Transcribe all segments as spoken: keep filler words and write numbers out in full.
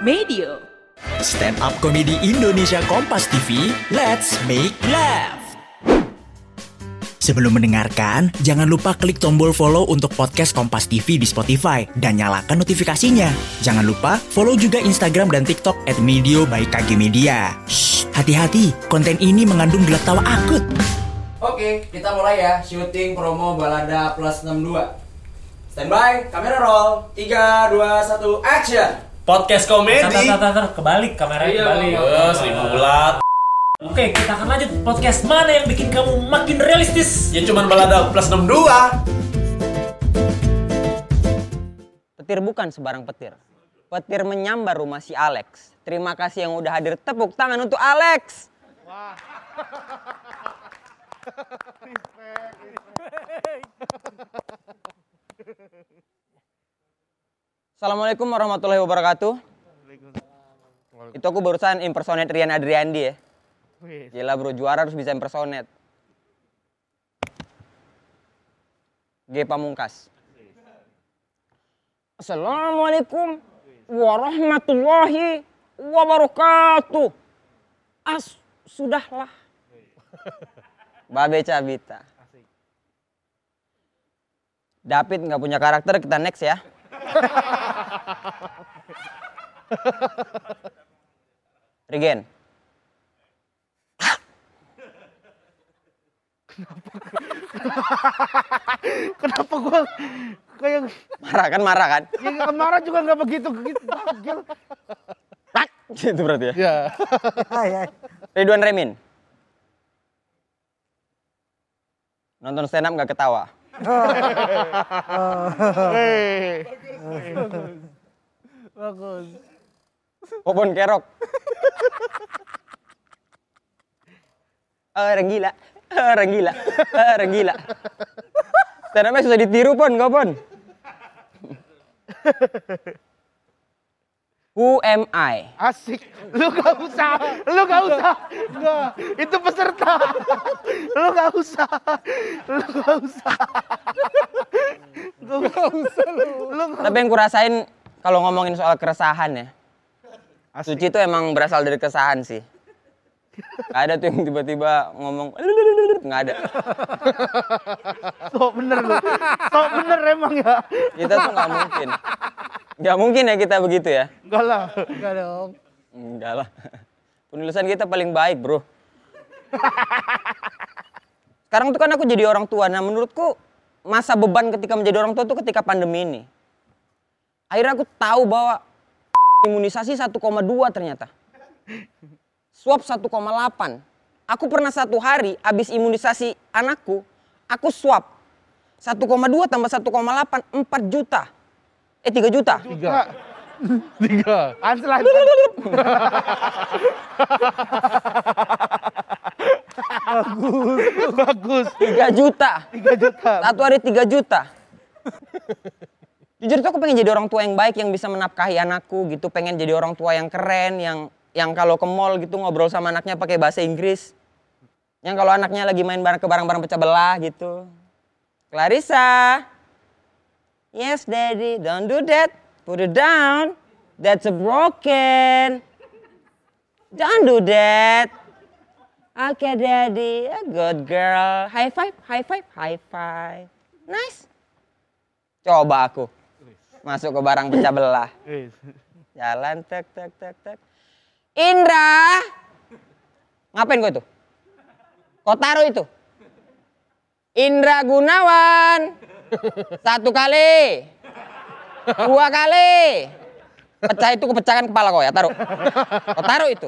Medio. Stand up komedi Indonesia Kompas T V, let's make laugh. Sebelum mendengarkan, jangan lupa klik tombol follow untuk podcast Kompas T V di Spotify dan nyalakan notifikasinya. Jangan lupa follow juga Instagram dan TikTok at medio by K G Media. Shh, hati-hati, konten ini mengandung gelak tawa akut. Oke, kita mulai ya, syuting promo Balada Plus enam dua. Standby, kamera roll, tiga, dua, satu, action! Podcast komedi. Tar, tar, tar, kebalik kameranya Iya, kebalik. oh, seribu bulat. Oke, kita akan lanjut podcast mana yang bikin kamu makin realistis? Ya cuman Balada Plus enam dua. Petir bukan sebarang petir. Petir menyambar rumah si Alex. Terima kasih yang udah hadir, tepuk tangan untuk Alex. Wah. Assalamualaikum warahmatullahi wabarakatuh. Itu aku barusan impersonate Rian Adriandi ya. Gila bro, juara harus bisa impersonate. G Pamungkas. Assalamualaikum warahmatullahi wabarakatuh. As, sudahlah. Babe Cabita. David nggak punya karakter, kita next ya. Regen. Kenapa gua kayak Marah kan, marah kan? ya, marah juga nggak begitu gitu. Bagel. Tak, gitu berarti ya. Ya. Ridwan Remin. Nonton stand up nggak ketawa. Hei. Bagus. Popon Kerok. Orang gila, orang gila, orang gila. Stand up-nya susah ditiru pon, kau pon. Who am I? Asik. Lu gak usah. Lu gak usah. Enggak. Itu peserta. Lu gak usah. Lu gak usah. Lu gak usah lu. Lu gak... Tapi yang kurasain kalau ngomongin soal keresahan ya. Asik. Suci itu emang berasal dari keresahan sih. Gak ada tuh yang tiba-tiba ngomong nggak ada. Sok bener lu. Sok bener emang ya. Kita tuh nggak mungkin. Nggak mungkin ya kita begitu ya. Enggak lah. Enggak dong. Enggak lah. Penulisan kita paling baik bro. Sekarang tuh kan aku jadi orang tua. Nah menurutku masa beban ketika menjadi orang tua tuh ketika pandemi ini. Akhirnya aku tahu bahwa imunisasi satu koma dua ternyata. Swab satu koma delapan. Aku pernah satu hari habis imunisasi anakku, aku swab. satu koma dua tambah satu koma delapan, empat juta. Eh tiga juta. Tiga. Tiga. Ansel Bagus. Bagus. tiga juta. tiga juta. Satu hari tiga juta. Jujur tuh aku pengen jadi orang tua yang baik, yang bisa menafkahi anakku gitu. Pengen jadi orang tua yang keren, yang yang kalau ke mall gitu ngobrol sama anaknya pakai bahasa Inggris. Yang kalau anaknya lagi main bareng ke barang-barang pecah belah gitu. Clarissa. Yes daddy, don't do that. Put it down. That's a broken. Don't do that. Okay daddy, a good girl. High five, high five, high five. Nice. Coba aku masuk ke barang pecah belah. Jalan tek tek tek tek. Indra. Ngapain kau itu? Kau taruh itu. Indra Gunawan. Satu kali. Dua kali. Pecah itu kepecahkan kepala kau ya, taruh. Kau taruh itu.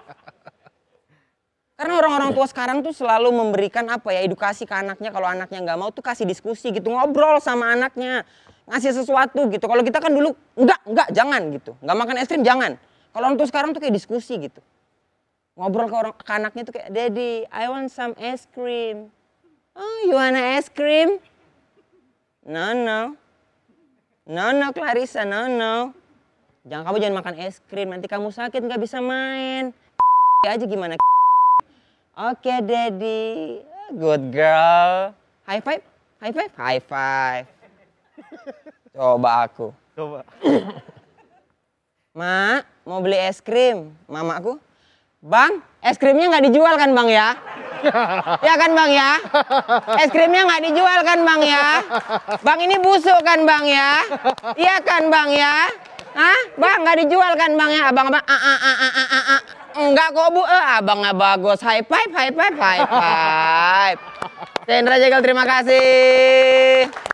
Karena orang-orang tua sekarang tuh selalu memberikan apa ya, edukasi ke anaknya. Kalau anaknya nggak mau tuh kasih diskusi gitu, ngobrol sama anaknya, ngasih sesuatu gitu. Kalau kita kan dulu enggak, enggak, jangan gitu. Nggak makan es krim jangan. Kalau orang tua sekarang tuh kayak diskusi gitu. Ngobrol ke orang ke anaknya tuh kayak, "Daddy, I want some ice cream." "Oh, you want ice cream?" "No, no." "No, no, Clarissa, no, no." "Jangan, kamu jangan makan es krim, nanti kamu sakit nggak bisa main." Aja gimana? "Oke, okay, Daddy. Good girl." High five, high five, high five. Coba aku. Coba. Mak, mau beli es krim. Mamaku, Bang, es krimnya nggak dijual kan Bang ya? Ya kan Bang ya? Es krimnya nggak dijual kan Bang ya? Bang ini busuk kan Bang ya? Iya kan Bang ya? Hah? Bang nggak dijual kan Bang ya? Abang abang, ah, ah, ah, ah, ah, ah. Enggak kok Bu, eh, abangnya bagus. High five, high five, high five. Cendra Jegal, terima kasih.